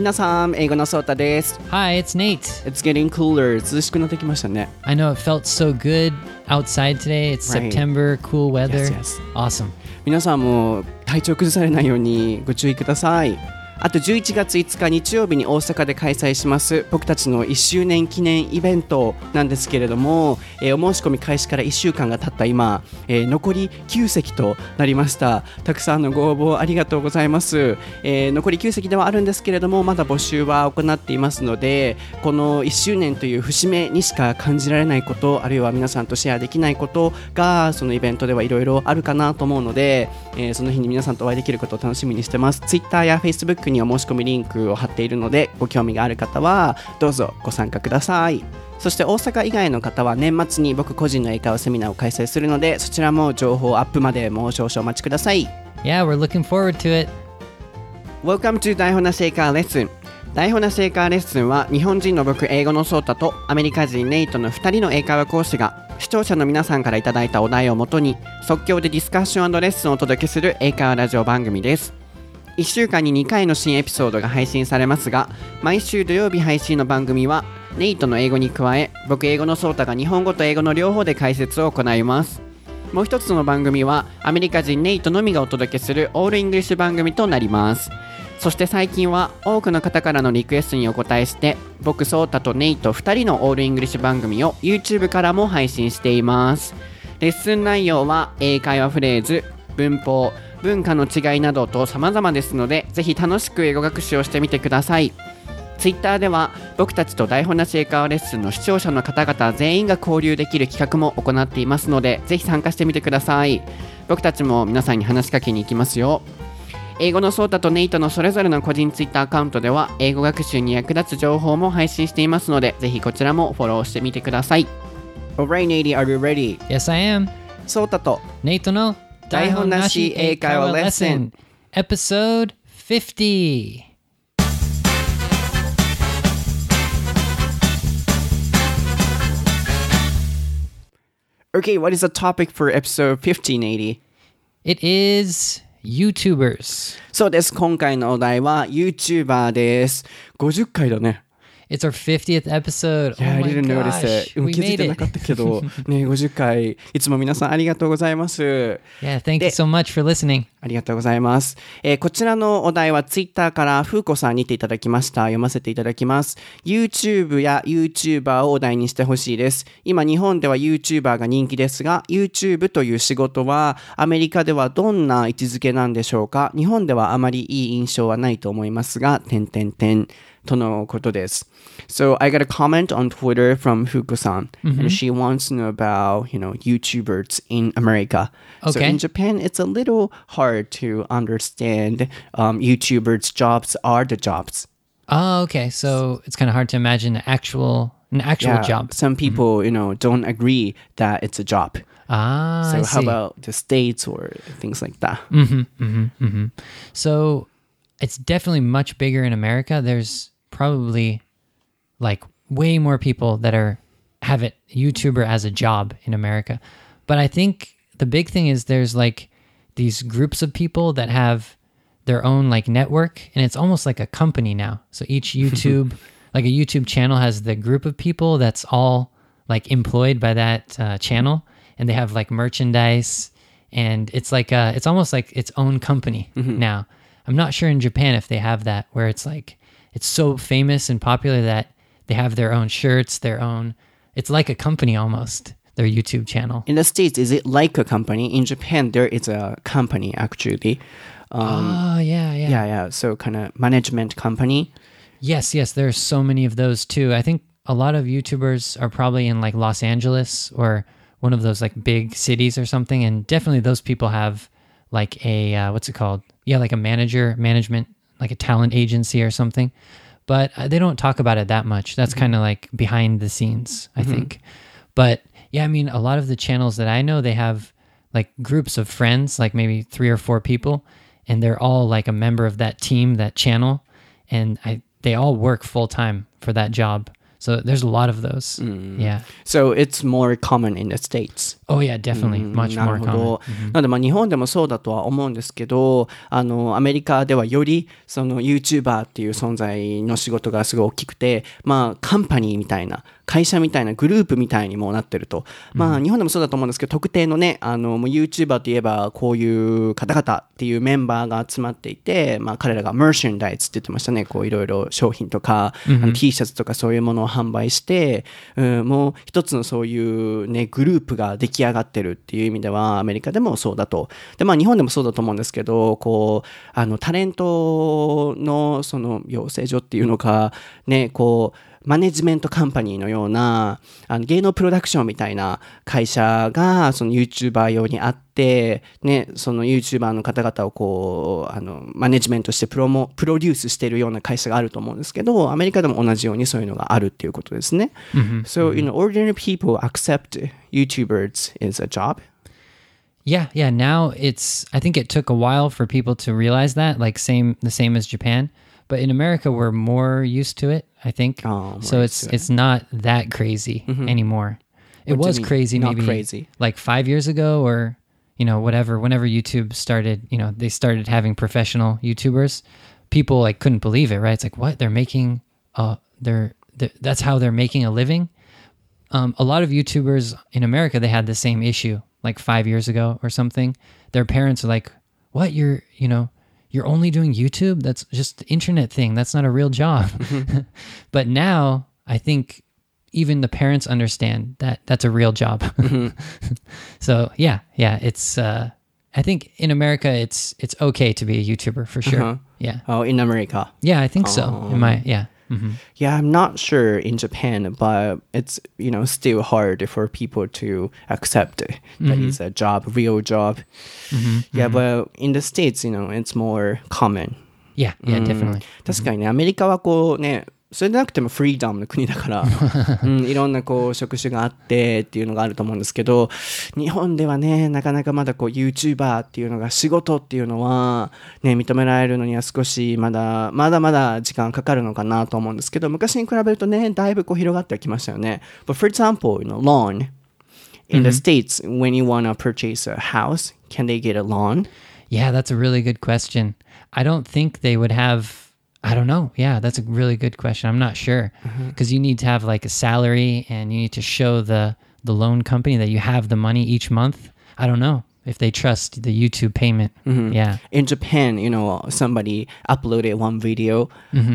皆さん、英語のソータです。 Hi, it's Nate. It's getting cooler. 涼しくなってきましたね。 I know it felt so good outside today. It's Right. September, cool weather. Yes. Awesome. 皆さんも体調崩されないようにご注意ください。あと11月5日日曜日に大阪で開催します僕たちの1周年記念イベントなんですけれども、お申し込み開始から1週間が経った今、残り9席となりました。たくさんのご応募ありがとうございます。残り9席ではあるんですけれども、まだ募集は行っていますので、この1周年という節目にしか感じられないこと、あるいは皆さんとシェアできないことがそのイベントではいろいろあるかなと思うので、その日に皆さんとお会いできることを楽しみにしてます。Twitter や Facebookにお申し込みリンクを貼っているので、ご興味がある方はどうぞご参加ください。そして大阪以外の方は年末に僕個人の英会話セミナーを開催するので、そちらも情報アップまでもう少々お待ちください。 Yeah, we're looking forward to it. Welcome to 台本なし英会話レッスン。台本なし英会話レッスンは日本人の僕英語のソータとアメリカ人ネイトの2人の英会話講師が視聴者の皆さんからいただいたお題をもとに即興でディスカッション&レッスンをお届けする英会話ラジオ番組です。1週間に2回の新エピソードが配信されますが、毎週土曜日配信の番組はネイトの英語に加え、僕英語のソータが日本語と英語の両方で解説を行います。もう一つの番組はアメリカ人ネイトのみがお届けするオールイングリッシュ番組となります。そして最近は多くの方からのリクエストにお答えして、僕ソータとネイト2人のオールイングリッシュ番組を YouTube からも配信しています。レッスン内容は英会話フレーズ、文法、文化の違いなどと様々ですので、ぜひ楽しく英語学習をしてみてください。Twitter では僕たちと台本なし英会話レッスンの視聴者の方々全員が交流できる企画も行っていますので、ぜひ参加してみてください。僕たちも皆さんに話しかけに行きますよ。英語のソータとネイトのそれぞれの個人 Twitter アカウントでは英語学習に役立つ情報も配信していますので、ぜひこちらもフォローしてみてください。 Alright, Nate, are you ready? Yes, I am. ソータと Nate no 台本なし英会話レッスン Episode 50. Okay, what is the topic for episode 50, Nate? It is YouTubers. そうです。今回のお題は YouTuber です。50回だね。 It's our 50th episode. Yeah, Oh I my didn't notice gosh. it. We 気づい made てなかっ it. たけど、ね、50回。いつも皆さんありがとうございます。 Yeah, thank you so much for listening. ありがとうございます。こちらのお題はツイッターからフーコさんにていただきました。読ませていただきます。YouTube や YouTuber をお題にしてほしいです。今日本では YouTuber が人気ですが、YouTube という仕事はアメリカではどんな位置づけなんでしょうか。日本ではあまりいい印象はないと思いますが、とのことです。So I got a comment on Twitter from Fuko-san, and she wants to know about, YouTubers in America. So Okay. in Japan, it's a little hard to understand YouTubers' jobs are the jobs. Oh, okay. So it's kind of hard to imagine an actual job. Some people, don't agree that it's a job. Ah, So I how see. about the states or things like that? So it's definitely much bigger in America. There's probably like way more people that have it YouTuber as a job in America. But I think the big thing is there's like these groups of people that have their own like network, and it's almost like a company now. So each YouTube, like a YouTube channel has the group of people that's all like employed by that channel, and they have like merchandise, and it's like it's almost like its own company now. I'm not sure in Japan if they have that, where it's like it's so famous and popular that they have their own shirts, it's like a company almost, their YouTube channel. In the States, is it like a company? In Japan, there is a company actually. Yeah. Yeah. So kind of management company. Yes, there's so many of those too. I think a lot of YouTubers are probably in like Los Angeles or one of those like big cities or something, and definitely those people have like a what's it called? Yeah, like a management, like a talent agency or something. But they don't talk about it that much. That's kind of like behind the scenes, I think. But yeah, I mean, a lot of the channels that I know, they have like groups of friends, like maybe 3 or 4 people, and they're all like a member of that team, that channel, and they all work full time for that job. So there's a lot of those. Yeah. So it's more common in the States. Oh yeah, definitely. Much な more るほど common. なのでまあ日本でもそうだとは思うんですけどアメリカではよりその YouTuber っていう存在の仕事がすごい大きくてまあカンパニーみたいな会社みたいなグループみたいにもなってると、まあ日本でもそうだと思うんですけど特定のねもう YouTuber といえばこういう方々っていうメンバーが集まっていてまあ彼らがマーシャンダイズって言ってましたねこういろいろ商品とか、T シャツとかそういうものを販売して、もう一つのそういうねグループが出来上がってるっていう意味ではアメリカでもそうだとでまあ日本でもそうだと思うんですけどこうタレントのその養成所っていうのかねこうマネジメントカンパニーのような芸能プロダクションみたいな会社がその YouTuber 用にあって、ね、その YouTuber の方々をこうマネジメントしてプロデュースしているような会社があると思うんですけどアメリカでも同じようにそういうのがあるっていうことですね。So, ordinary people accept YouTubers is a job? Yeah, now I think it took a while for people to realize that, like the same as Japan. But in America, we're more used to it, I think. So it's not that crazy anymore. It was crazy Not maybe crazy. like 5 years ago or, whatever. Whenever YouTube started, they started having professional YouTubers. People like couldn't believe it, right? It's like, what? They're making, that's how they're making a living? A lot of YouTubers in America, they had the same issue like 5 years ago or something. Their parents are like, what? You're only doing YouTube? That's just the internet thing. That's not a real job. But now I think even the parents understand that that's a real job. So yeah, it's I think in America it's okay to be a YouTuber for sure. Yeah. Oh, in America. Yeah, I think so. Yeah, I'm not sure in Japan, but it's still hard for people to accept that it's a job, real job. Yeah, but in the States, it's more common. Yeah, definitely. 確かにね、アメリカはこうね、それでなくてもフリーダムの国だから、いろんなこう職種があってっていうのがあると思うんですけど、日本ではね、なかなかまだこう YouTuber っていうのが仕事っていうのはね、認められるのには少しまだ時間かかるのかなと思うんですけど、昔に比べるとね、だいぶこう広がってはきましたよね。But for example, loan in the States, when you want to purchase a house, can they get a loan? Yeah, that's a really good question. I don't think they would have...I don't know. Yeah, that's a really good question. I'm not sure because you need to have like a salary and you need to show the loan company that you have the money each month. I don't know if they trust the YouTube payment. Yeah. In Japan, somebody uploaded one video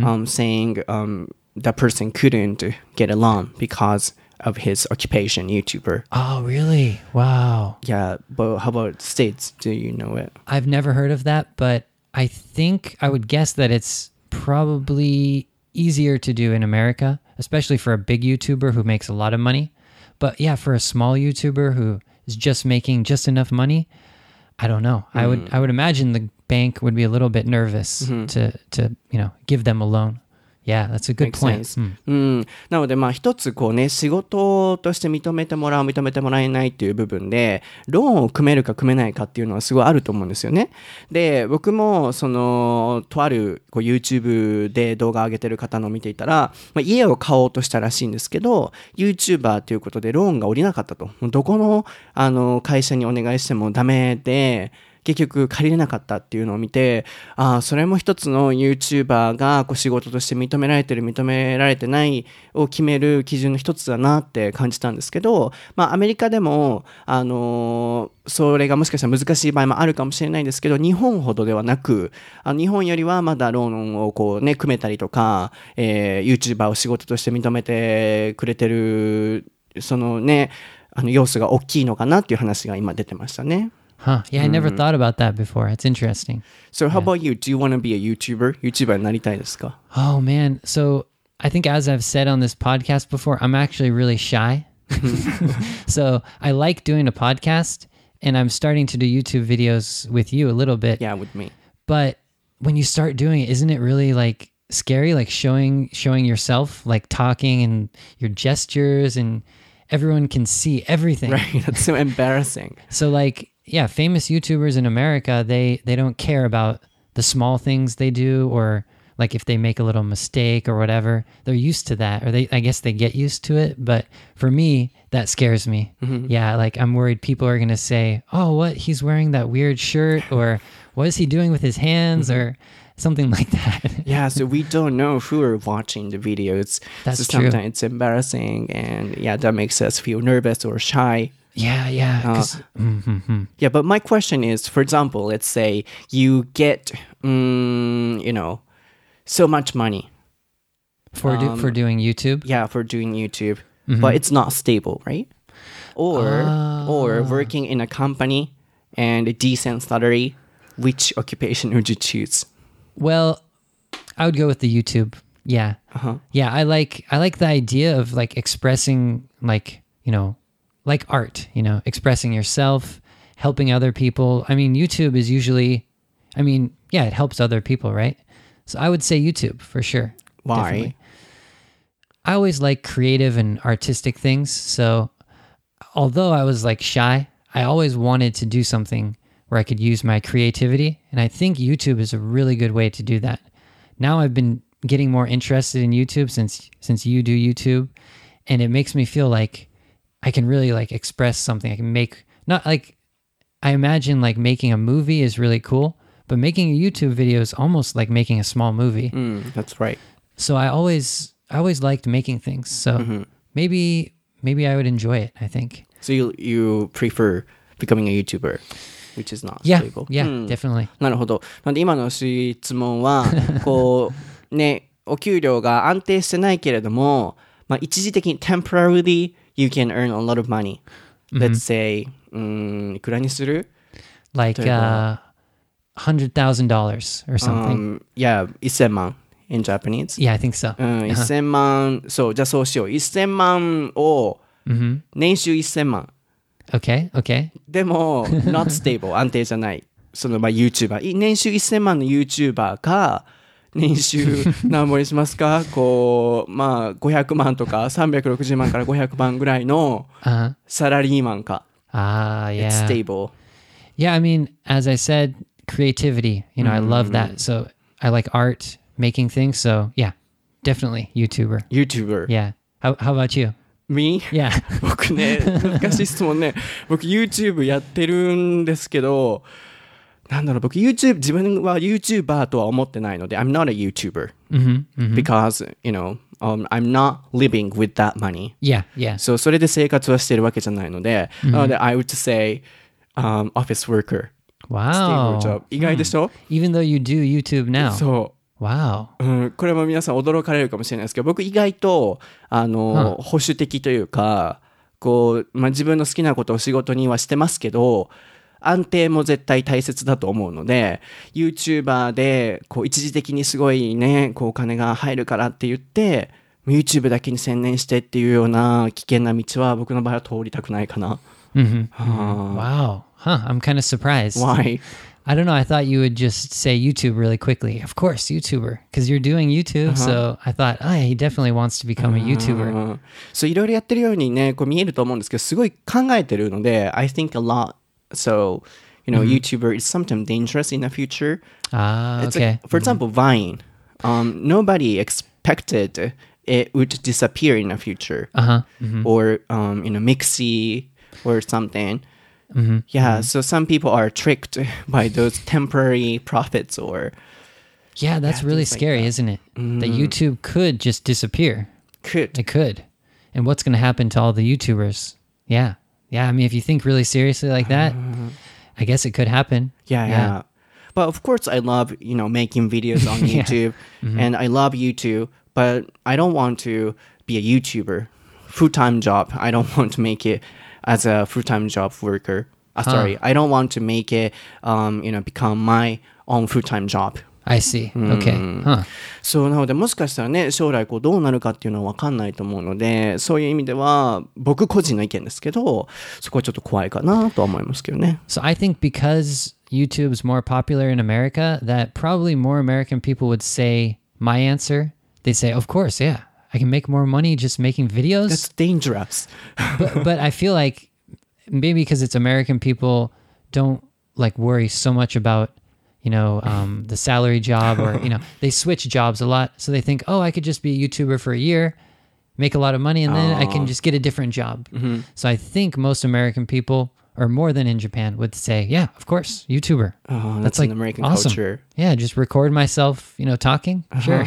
saying the person couldn't get a loan because of his occupation, YouTuber. Oh, really? Wow. Yeah, but how about States? Do you know it? I've never heard of that, but I think I would guess that it's probably easier to do in America, especially for a big YouTuber who makes a lot of money. But yeah, for a small YouTuber who is just making just enough money, I don't know. I would imagine the bank would be a little bit nervous to give them a loan. Yeah, that's a good point. なので一つこうね仕事として認めてもらう認めてもらえないっていう部分でローンを組めるか組めないかっていうのはすごいあると思うんですよね。で僕もとあるこう YouTube で動画上げてる方のを見ていたら、家を買おうとしたらしいんですけど YouTuber ということでローンが下りなかったと。どこの会社にお願いしてもダメで結局借りれなかったっていうのを見てそれも一つの YouTuber がこう仕事として認められてる認められてないを決める基準の一つだなって感じたんですけど、アメリカでもそれがもしかしたら難しい場合もあるかもしれないですけど日本ほどではなく日本よりはまだローンをこうね組めたりとか、YouTuber を仕事として認めてくれてるそのね要素が大きいのかなっていう話が今出てましたね。 Huh. Yeah, I never thought about that before. It's interesting. So how about you? Do you want to be a YouTuber? YouTuber になりたいですか? Oh, man. So I think as I've said on this podcast before, I'm actually really shy. So I like doing a podcast and I'm starting to do YouTube videos with you a little bit. Yeah, with me. But when you start doing it, isn't it really like scary? Like showing yourself, like talking and your gestures and everyone can see everything. Right. That's so embarrassing. So like, yeah, famous YouTubers in America, they don't care about the small things they do or like if they make a little mistake or whatever, they're used to that, or I guess they get used to it. But for me, that scares me. Yeah, like I'm worried people are going to say, oh, what? He's wearing that weird shirt, or what is he doing with his hands, or something like that. Yeah, so we don't know who are watching the videos. That's so true. sometimes it's embarrassing, and yeah, that makes us feel nervous or shy. Yeah. Yeah, but my question is, for example, let's say you get, so much money. For doing YouTube. Yeah, for doing YouTube, but it's not stable, right? Or working in a company and a decent salary. Which occupation would you choose? Well, I would go with the YouTube. Yeah. Yeah, I like the idea of like expressing like art, expressing yourself, helping other people. I mean, YouTube is usually it helps other people, right? So I would say YouTube for sure. Why? Definitely. I always like creative and artistic things. So although I was like shy, I always wanted to do something where I could use my creativity. And I think YouTube is a really good way to do that. Now I've been getting more interested in YouTube since you do YouTube. And it makes me feel like I can really like express something. I can make, not like, I imagine like making a movie is really cool, but making a YouTube video is almost like making a small movie. That's right. So I always liked making things. So maybe I would enjoy it, I think. So you prefer becoming a YouTuber, which is not Yeah, stable. definitely. なるほど。なんで今の質問はこうね、お給料が安定してないけれども、まあ一時的に temporarily you can earn a lot of money. Let's say いくらにする? Like $100,000 or something. Yeah, 1000万 in Japanese. Yeah, I think so. 1000万、そう、じゃあそうしよう。1000万を年収1000万。 Okay. でも、not stable 安定じゃない。そのYouTuber。年収1000万の YouTuber か、年収何本にしますかこう、500万とか360万から500万ぐらいのサラリーマンか。 Yeah. It's stable. Yeah, I mean, as I said, creativity, I love that. So I like art, making things. So yeah, definitely YouTuber. Yeah. How about you? Me? Yeah. 僕ね、難しい質問ね。僕 YouTube やってるんですけど、僕自分は YouTuber とは思ってないので I'm not a YouTuber because I'm not living with that money. Yeah. So それで生活はしてるわけじゃないので、なので I would say office worker. Wow. Stable job. 意外でしょ? Even though you do YouTube now. そう。 Wow. これも皆さん驚かれるかもしれないですけど、僕意外と保守的というか、こう、自分の好きなことを仕事にはしてますけど、安定も絶対大切だと思うので、YouTuber でこう一時的にすごいね、こうお金が入るからって言って、YouTube だけに専念してっていうような危険な道は僕の場合は通りたくないかな。 Wow. I'm kind of surprised. Why? I don't know. I thought you would just say YouTube really quickly. Of course, YouTuber. Because you're doing YouTube. So I thought, he definitely wants to become a YouTuber. そういろいろやってるようにね、こう見えると思うんですけど、すごい考えてるので、I think a lot. So, YouTuber is sometimes dangerous in the future. It's Okay. like, for example, Vine. Nobody expected it would disappear in the future. Or, Mixi or something. Yeah, so some people are tricked by those temporary profits or... Yeah, that's really scary, isn't it? That YouTube could just disappear. Could. It could. And what's going to happen to all the YouTubers? Yeah. I mean, if you think really seriously like that, I guess it could happen. Yeah. But of course, I love, making videos on YouTube. And I love YouTube, but I don't want to be a YouTuber. Full-time job. I don't want to make it as a full-time job worker. Sorry, I don't want to make it, become my own full-time job. I see. Okay. そうなのでもしかしたらね将来こうどうなるかっていうのは分かんないと思うのでそういう意味では僕個人の意見ですけどそこはちょっと怖いかなとは思いますけどね。 So I think because YouTube's more popular in America that probably more American people would say my answer. They say, of course, yeah, I can make more money just making videos. That's dangerous. but I feel like maybe because it's American people don't like worry so much about the salary job, or they switch jobs a lot, so they think, oh, I could just be a YouTuber for a year, make a lot of money, and then I can just get a different job. So I think most American people, or more than in Japan, would say, yeah, of course, YouTuber. Oh, that's like an American awesome. culture. Yeah, just record myself, talking. Sure.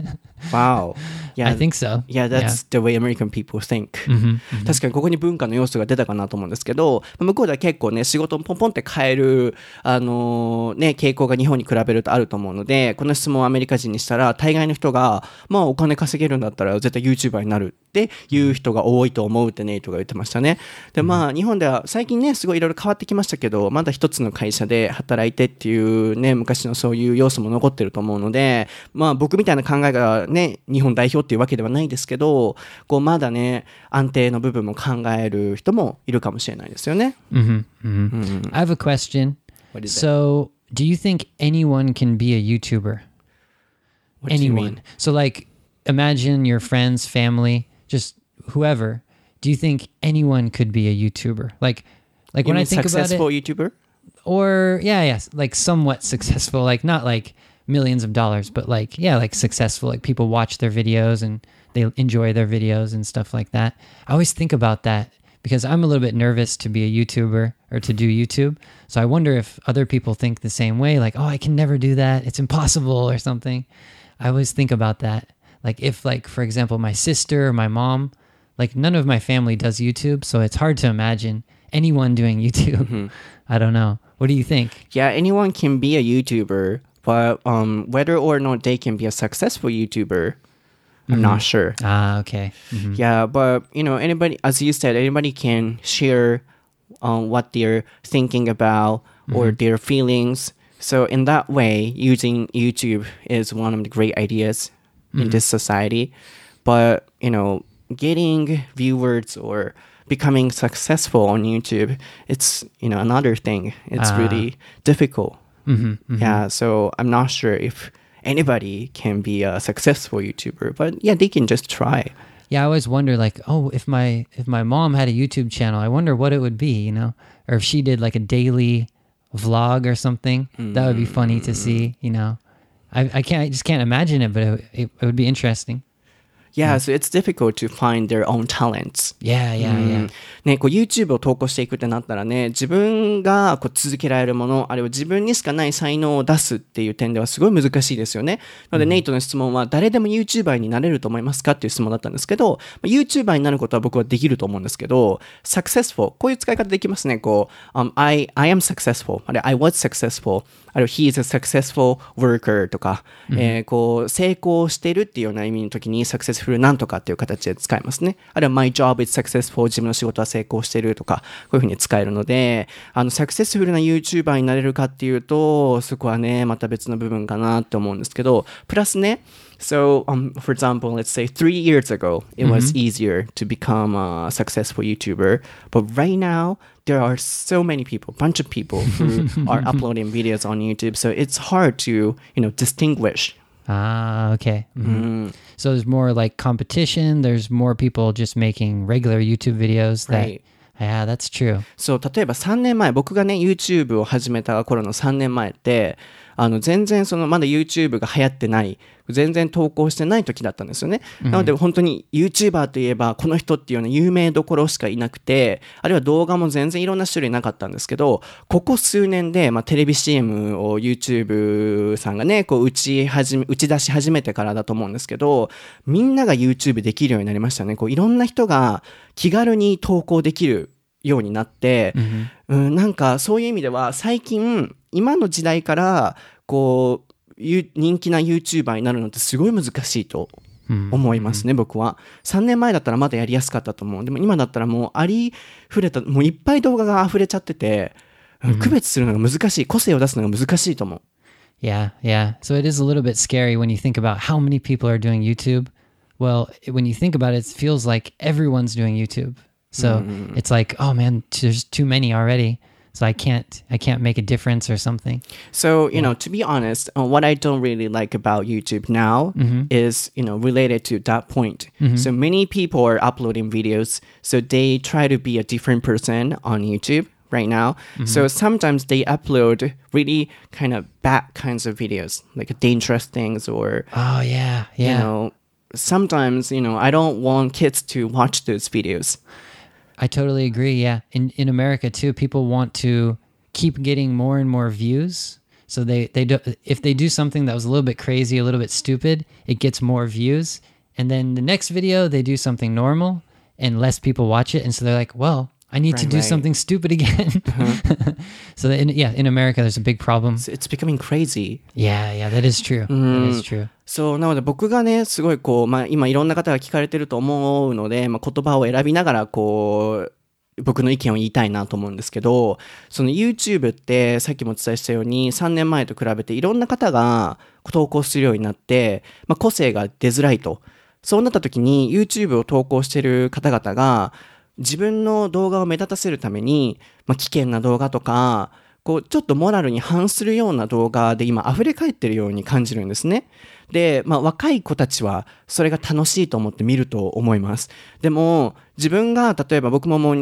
Wow. Yeah, I think so. Yeah, that's the way American people think. 確かにここに文化の要素が出たかなと思うんですけど、向こうでは結構ね、仕事をポンポンって変える、傾向が日本に比べるとあると思うので、この質問をアメリカ人にしたら、大概の人が、まあお金稼げるんだったら絶対 YouTuber になるっていう人が多いと思うってネイトが言ってましたね。で、まあ日本では最近ね、すごいいろいろ変わってきましたけど、まだ一つの会社で働いてっていうね、昔のそういう要素も残ってると思うので、まあ僕みたいな考えがね、日本代表っていうわけではないですけど、こうまだね、安定の部分も考える人もいるかもしれないですよね。 I have a question. What is So, do you think anyone can be a YouTuber? What do you Anyone. mean? So, like, imagine your friends, family, just whoever. Do you think anyone could be a YouTuber? Like You when I mean think about successful it, YouTuber? or like somewhat successful, like not like millions of dollars, but like successful, like people watch their videos and they enjoy their videos and stuff like that. I always think about that because I'm a little bit nervous to be a YouTuber or to do YouTube. So I wonder if other people think the same way, like, oh, I can never do that, it's impossible or something. I always think about that. Like if, like, for example, my sister or my mom, like none of my family does YouTube, so it's hard to imagine anyone doing YouTube. I don't know. What do you think? Yeah, anyone can be a YouTuber, but whether or not they can be a successful YouTuber, I'm not sure. Okay. Yeah, but anybody, as you said, anybody can share what they're thinking about or their feelings. So in that way, using YouTube is one of the great ideas in this society. But getting viewers or becoming successful on YouTube, it's another thing. It's really difficult. Yeah, so I'm not sure if anybody can be a successful YouTuber, but yeah, they can just try. Yeah, I always wonder, like, oh, if my mom had a YouTube channel, I wonder what it would be, or if she did like a daily vlog or something. That would be funny to see, I just can't imagine it, but it would be interesting. Yeah, so it's difficult to find their own talents. Yeah. ね、こう YouTube を投稿していくってなったらね、自分がこう続けられるもの、あるいは自分にしかない才能を出すっていう点ではすごい難しいですよね。なので、ネイトの質問は誰でも YouTuber になれると思いますかっていう質問だったんですけど、YouTuber になることは僕はできると思うんですけど、successful、こういう使い方できますね。こう、I am successful、あるいは I was successful、あるいは he is a successful worker とか、こう成功してるっていうような意味の時に successful なんとかっていう形で使いますね。あるいは my job is successful、自分の仕事は成功してるとか、こういうふうに使えるので、サクセスフルな YouTuber になれるかっていうと、そこはね、また別の部分かなって思うんですけど、プラスね、So, for example, let's say 3 years ago, it was easier to become a successful YouTuber. But right now, there are so many people, bunch of people who are uploading videos on YouTube. So it's hard to, distinguish. Okay. So there's more like competition. There's more people just making regular YouTube videos. Right. Yeah, that's true. そう、例えば3年前、僕がね、YouTube を始めた頃の3年前って、全然まだ YouTube が流行ってない、全然投稿してない時だったんですよね。なので本当に YouTuber といえばこの人っていうような有名どころしかいなくて、あるいは動画も全然いろんな種類なかったんですけど、ここ数年で、テレビ CM を YouTube さんがね、こう打ち出し始めてからだと思うんですけど、みんなが YouTube できるようになりましたね。こういろんな人が気軽に投稿できるようになって、なんかそういう意味では最近今の時代からこう人気な YouTuber になるのってすごい難しいと思いますね、僕は。3年前だったらまだやりやすかったと思う。でも今だったらもうありふれた、もういっぱい動画が溢れちゃってて、区別するのが難しい、個性を出すのが難しいと思う。 Yeah. So it is a little bit scary when you think about how many people are doing YouTube. Well, when you think about it, it feels like everyone's doing YouTube. So it's like, oh man, there's too many already. So I can't make a difference or something. So, to be honest, what I don't really like about YouTube now is, related to that point. So many people are uploading videos. So they try to be a different person on YouTube. right now. So sometimes they upload really kind of bad kinds of videos, like dangerous things or, Oh yeah, yeah. you know, sometimes, you know, I don't want kids to watch those videos. I totally agree. Yeah. In America too, people want to keep getting more and more views. So they do, if they do something that was a little bit crazy, a little bit stupid, it gets more views. And then the next video, they do something normal and less people watch it. And so they're like, well, I need to do something stupid again. So in America, there's a big problem. It's becoming crazy. Yeah, that is true. That is true. そう、なので僕がね、すごいこう、まあ今いろんな方が聞かれてると思うので、まあ言葉を選びながらこう、僕の意見を言いたいなと思うんですけど、その YouTube ってさっきもお伝えしたように3年前と比べていろんな方が投稿するようになって、まあ個性が出づらいと。そうなった時に YouTube を投稿している方々が自分の動画を目立たせるために、まあ危険な動画とか、こうちょっとモラルに反するような動画で今溢れ返ってるように感じるんですね。で、まあ若い子たちはそれが楽しいと思って見ると思います。でも自分が例えば僕ももう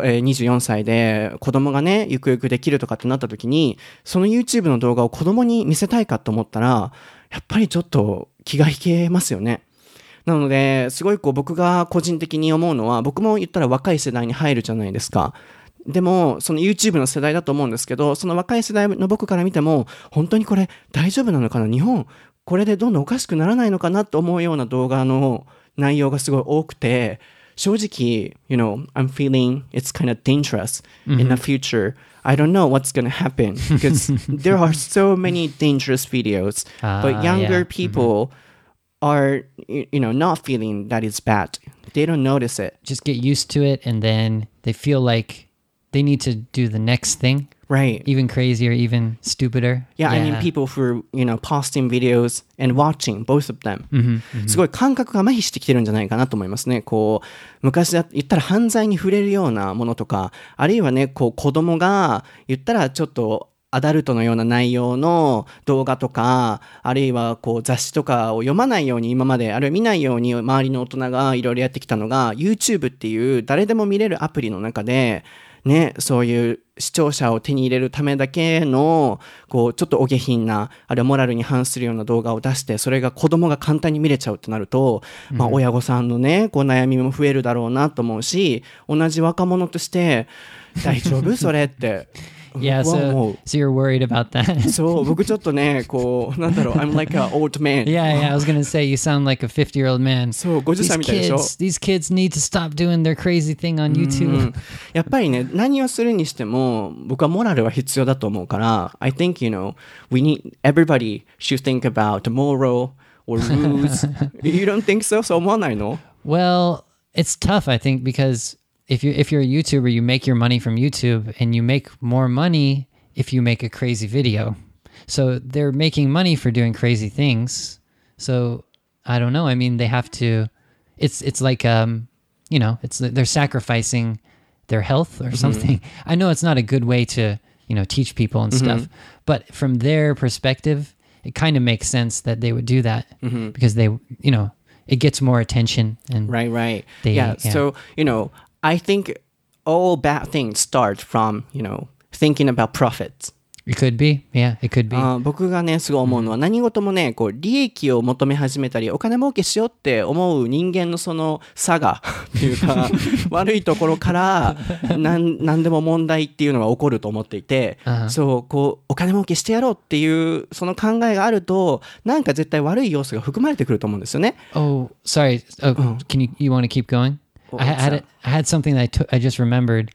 24歳で子供がね、ゆくゆくできるとかってなった時に、その YouTube の動画を子供に見せたいかと思ったら、やっぱりちょっと気が引けますよね。なので、すごいこう僕が個人的に思うのは、僕も言ったら若い世代に入るじゃないですか。でも、その YouTube の世代だと思うんですけど、その若い世代の僕から見ても、本当にこれ大丈夫なのかな？日本、これでどんどんおかしくならないのかなと思うような動画の内容がすごい多くて、正直、you know, I'm feeling it's kind of dangerous in the future. I don't know what's going to happen because there are so many dangerous videos, but younger people are, you know, not feeling that it's bad. They don't notice it. Just get used to it, and then they feel like they need to do the next thing. Right. Even crazier, even stupider. Yeah, I mean people who, you know, posting videos and watching, both of them. すごい感覚が麻痺してきてるんじゃないかなと思いますね。こう、昔だ言ったら犯罪に触れるようなものとか、あるいはね、こう子供が言ったらちょっとアダルトのような内容の動画とか、あるいはこう雑誌とかを読まないように今まで、あるいは見ないように周りの大人がいろいろやってきたのが、YouTube っていう誰でも見れるアプリの中で、ね、そういう視聴者を手に入れるためだけの、こう、ちょっとお下品な、あるいはモラルに反するような動画を出して、それが子供が簡単に見れちゃうってなると、まあ、親御さんのね、こう、悩みも増えるだろうなと思うし、同じ若者として、大丈夫それって。 Yeah, so you're worried about that. そう、僕ちょっとね、こう、なんだろう、I'm like an old man. Yeah, I was going to say, you sound like a 50-year-old man. そう、50歳みたいでしょ。 These kids need to stop doing their crazy thing on YouTube. やっぱりね、何をするにしても、僕はモラルは必要だと思うから、I think, you know, everybody should think about moral or rules. You don't think so? そう思わないの？ Well, it's tough, I think, because if you're a YouTuber, you make your money from YouTube, and you make more money if you make a crazy video. So they're making money for doing crazy things. So I don't know. I mean, they have to. It's like you know, they're sacrificing their health or something. I know it's not a good way to, you know, teach people and stuff, but from their perspective, it kind of makes sense that they would do that because they, you know, it gets more attention. And right. Yeah. So, you know, I think all bad things start from, you know, thinking about profits. It could be. Yeah, it could be. 僕がね、すごい思うのは、何事もね、こう、利益を求め始めたり、お金儲けしようって思う人間のその差が、っていうか、悪いところから、何でも問題っていうのが起こると思っていて、そう、こう、お金儲けしてやろうっていう、その考えがあると、なんか絶対悪い要素が含まれてくると思うんですよね。 Oh, sorry. You want to keep going? I had something that I just remembered.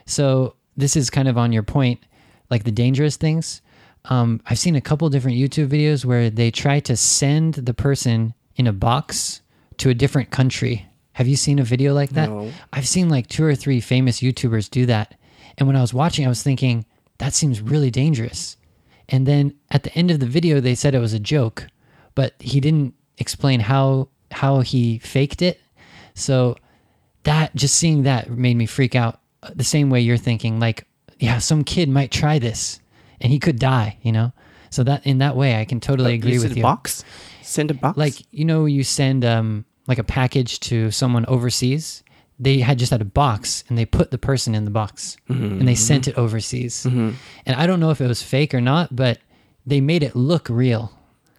So this is kind of on your point, like the dangerous things. I've seen a couple different YouTube videos where they try to send the person in a box to a different country. Have you seen a video like that? No. I've seen like 2 or 3 famous YouTubers do that. And when I was watching, I was thinking, that seems really dangerous. And then at the end of the video, they said it was a joke, but he didn't explain how he faked it. So that, just seeing that made me freak out the same way you're thinking, like, yeah, some kid might try this and he could die, you know? So that in that way, I can totally agree with you. Send a box? Like, you know, you send like a package to someone overseas, they had just had a box and they put the person in the box and they sent it overseas. And I don't know if it was fake or not, but they made it look real.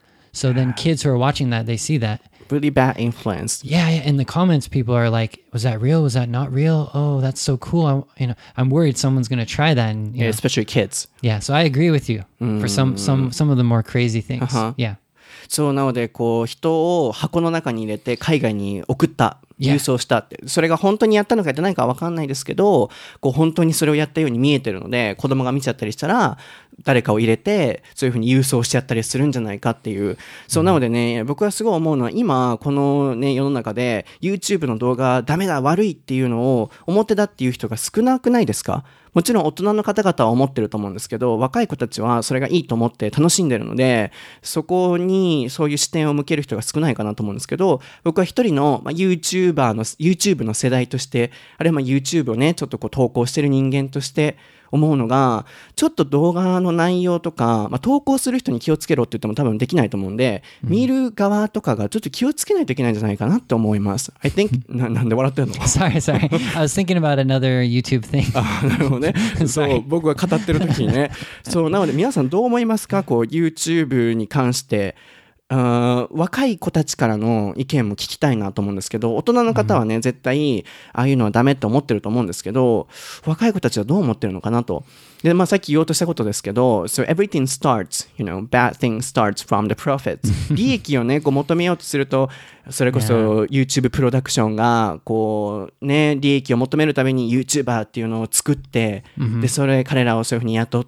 So then kids who are watching that, they see that. Really bad influence. Yeah, in the comments, people are like, "Was that real? Was that not real? Oh, that's so cool! I'm worried someone's gonna try that." And Yeah, especially kids. yeah, so I agree with you for some of the more crazy things. Yeah, そうなのでこう人を箱の中に入れて海外に送った郵送したって、それが本当にやったのかやってないかは分かんないですけど、こう本当にそれをやったように見えてるので、子供が見ちゃったりしたら誰かを入れてそういうふうに郵送しちゃったりするんじゃないかっていう。そうなのでね、僕はすごい思うのは今このね世の中で YouTube の動画ダメだ悪いっていうのを表だっていう人が少なくないですか？もちろん大人の方々は思ってると思うんですけど、若い子たちはそれがいいと思って楽しんでるので、そこにそういう視点を向ける人が少ないかなと思うんですけど、僕は一人の、YouTube の世代として、あるいはYouTube をねちょっとこう投稿してる人間として思うのが、ちょっと動画の内容とか、投稿する人に気をつけろって言っても多分できないと思うんで、見る側とかがちょっと気をつけないといけないんじゃないかなって思います。I think なんで笑ってんの？ sorry. I was thinking about another YouTube thing. なるほどね。そう僕が語ってる時にね。そうなので皆さんどう思いますか？こう YouTube に関して。若い子たちからの意見も聞きたいなと思うんですけど、大人の方はね、絶対ああいうのはダメって思ってると思うんですけど、若い子たちはどう思ってるのかなと。で、さっき言おうとしたことですけど、So everything starts, bad thing starts from the profits. 利益をね、こう求めようとすると、それこそ YouTube プロダクションが、こうね、利益を求めるために YouTuber っていうのを作って、で、彼らをそういうふうに雇って、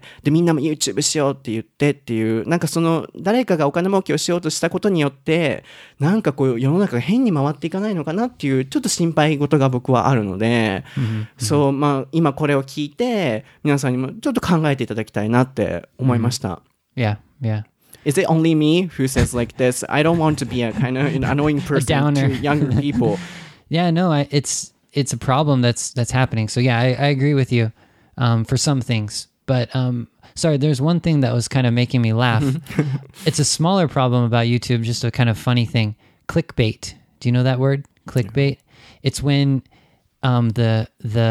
で、みんなも YouTube しようって言ってっていう、なんか誰かがお金儲けをしようとしたことによって、なんかこう世の中が変に回っていかないのかなっていう、ちょっと心配事が僕はあるので、そう、今これを聞いて、皆さんにもちょっと考えていただきたいなって思いました。 Yeah, yeah. Is it only me who says like this? I don't want to be a kind of annoying person to younger people. Yeah, no, it's a problem that's happening. So yeah, I agree with you for some things. But sorry, there's one thing that was kind of making me laugh. It's a smaller problem about YouTube, just a kind of funny thing. Clickbait. Do you know that word? Clickbait. It's when the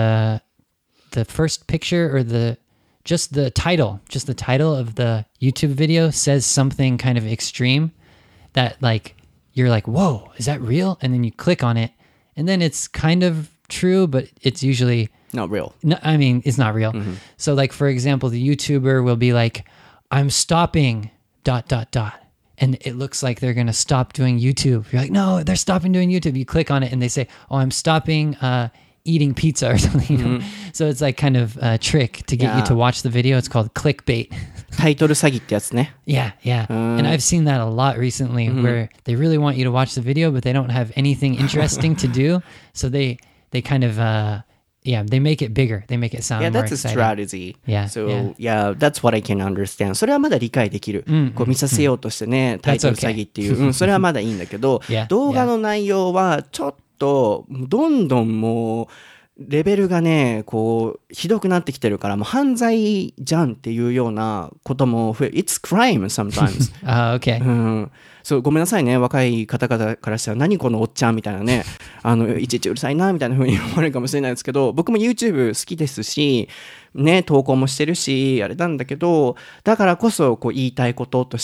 first picture or just the title of the YouTube video says something kind of extreme that like you're like, whoa, is that real? And then you click on it and then it's kind of true, but it's usually not real. No, I mean, it's not real. So like, for example, the YouTuber will be like, I'm stopping ... And it looks like they're going to stop doing YouTube. You're like, no, they're stopping doing YouTube. You click on it and they say, oh, I'm stopping eating pizza or something. So it's like kind of a trick to get you to watch the video. It's called clickbait. タイトル詐欺ってやつね。 Yeah. And I've seen that a lot recently where they really want you to watch the video, but they don't have anything interesting to do. So they kind of, they make it bigger. They make it sound more that's exciting. a strategy. Yeah. So, that's what I can understand. それはまだ理解できる。こう見させようとしてね、タイトル詐欺っていう。それはまだいいんだけど、動画の内容はちょっと、どんどんもう、レベルがね、こう、ひどくなってきてるから、もう犯罪じゃんっていうようなことも増え、It's crime sometimes. Okay. そう、ごめんなさいね、若い方々からしたら、何このおっちゃんみたいなね、いちいちうるさいな、みたいな風に思われるかもしれないですけど、僕も YouTube 好きですし、ね、投稿もしてるし、あれなんだけど、だからこそ、こう、言いたいこととして、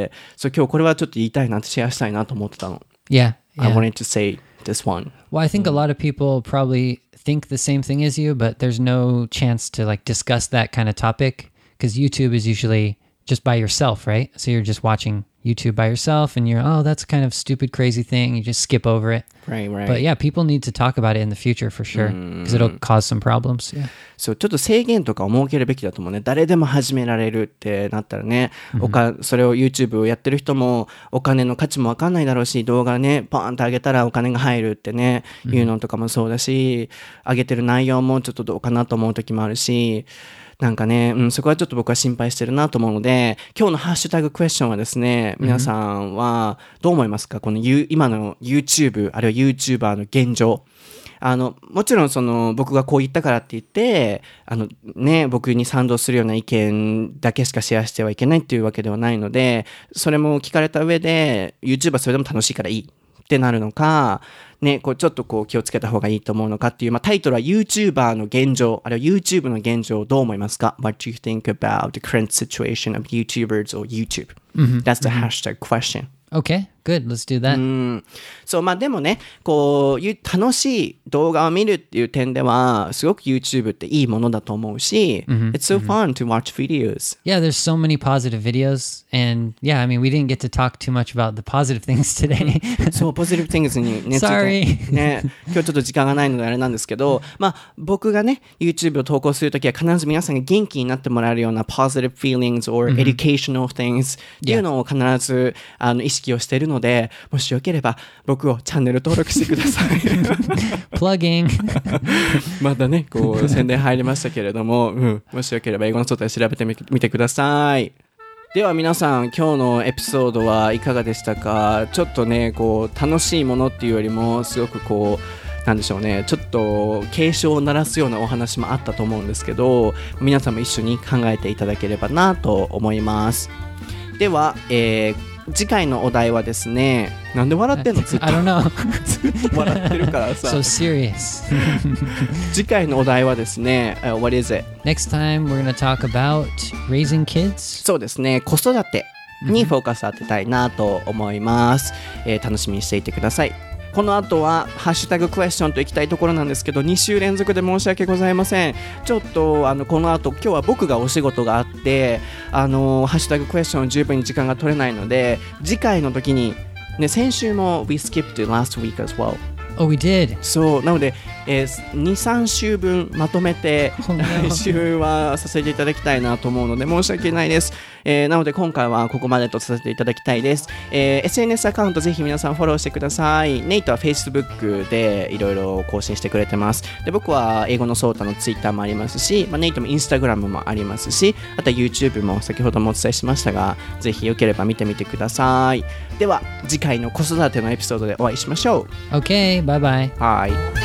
そう、今日これはちょっと言いたいなってシェアしたいなと思ってたの。 Yeah. I wanted to say this one. Well, I think a lot of people probably think the same thing as you, but there's no chance to like discuss that kind of topic because YouTube is usually just by yourself, right? So you're just watching YouTube by yourself and you're, oh, that's kind of stupid, crazy thing. You just skip over it. Right. But yeah, people need to talk about it in the future for sure because it'll cause some problems. Yeah. そう、ちょっと制限とかを設けるべきだと思うね。誰でも始められるってなったらね、それを YouTube をやってる人もお金の価値もわかんないだろうし、動画ね、ポーンと上げたらお金が入るってね、いうのとかもそうだし、上げてる内容もちょっとどうかなと思う時もあるし、なんかね、そこはちょっと僕は心配してるなと思うので、今日のハッシュタグクエスチョンはですね、皆さんはどう思いますか？この今の YouTube、あるいは YouTuber の現状。もちろん僕がこう言ったからって言って、僕に賛同するような意見だけしかシェアしてはいけないっていうわけではないので、それも聞かれた上で、YouTube はそれでも楽しいからいい。 ってなるのか、ね、こうちょっとこう気をつけた方がいいと思うのかっていう、タイトルは YouTuber の現状、あるいは YouTube の現状どう思いますか？ What do you think about the current situation of YouTubers or YouTube?、That's the hashtag question.Okay, good. Let's do that. そうでもね、こう楽しい動画を見るっていう点ではすごく YouTube っていいものだと思うし、It's so fun to watch videos. Yeah, there's so many positive videos, and yeah, I mean, we didn't get to talk too much about the positive things today. そう、positive things にね、 Sorry. ね、今日ちょっと時間がないのであれなんですけど、僕がね YouTube を投稿するときは必ず皆さんが元気になってもらえるような positive feelings or educational things っていうのを必ず意識をしているので、もしよければ僕をチャンネル登録してください。 Plugging またね、こう宣伝入りましたけれども、もしよければ英語の外で調べてみてください。では皆さん、今日のエピソードはいかがでしたか？ちょっとね、こう楽しいものっていうよりもすごくこうなんでしょうね、ちょっと警鐘を鳴らすようなお話もあったと思うんですけど、皆さんも一緒に考えていただければなと思います。では、次回のお題はですね、なんで笑ってんの？ずっと I don't know. ずっと笑ってるからさ。 So serious. 次回のお題はですね、What is it? Next time we're going to talk about raising kids. そうですね、子育てにフォーカス当てたいなと思います。楽しみにしていてください。この後はハッシュタグクエスチョンといきたいところなんですけど、2週連続で申し訳ございません。ちょっとこの後今日は僕がお仕事があってハッシュタグクエスチョン十分に時間が取れないので、次回の時にね、先週も We skipped last week as well. Oh, we did. そうなので、2,3 週分まとめて来週はさせていただきたいなと思うので申し訳ないです。なので今回はここまでとさせていただきたいです。SNS アカウントぜひ皆さんフォローしてください。ネイトは Facebook でいろいろ更新してくれてます。で、僕は英語のソータの Twitter もありますし、ネイトも Instagram もありますし、あとは YouTube も先ほどもお伝えしましたが、ぜひよければ見てみてください。では次回の子育てのエピソードでお会いしましょう。 Okay, bye bye. Bye.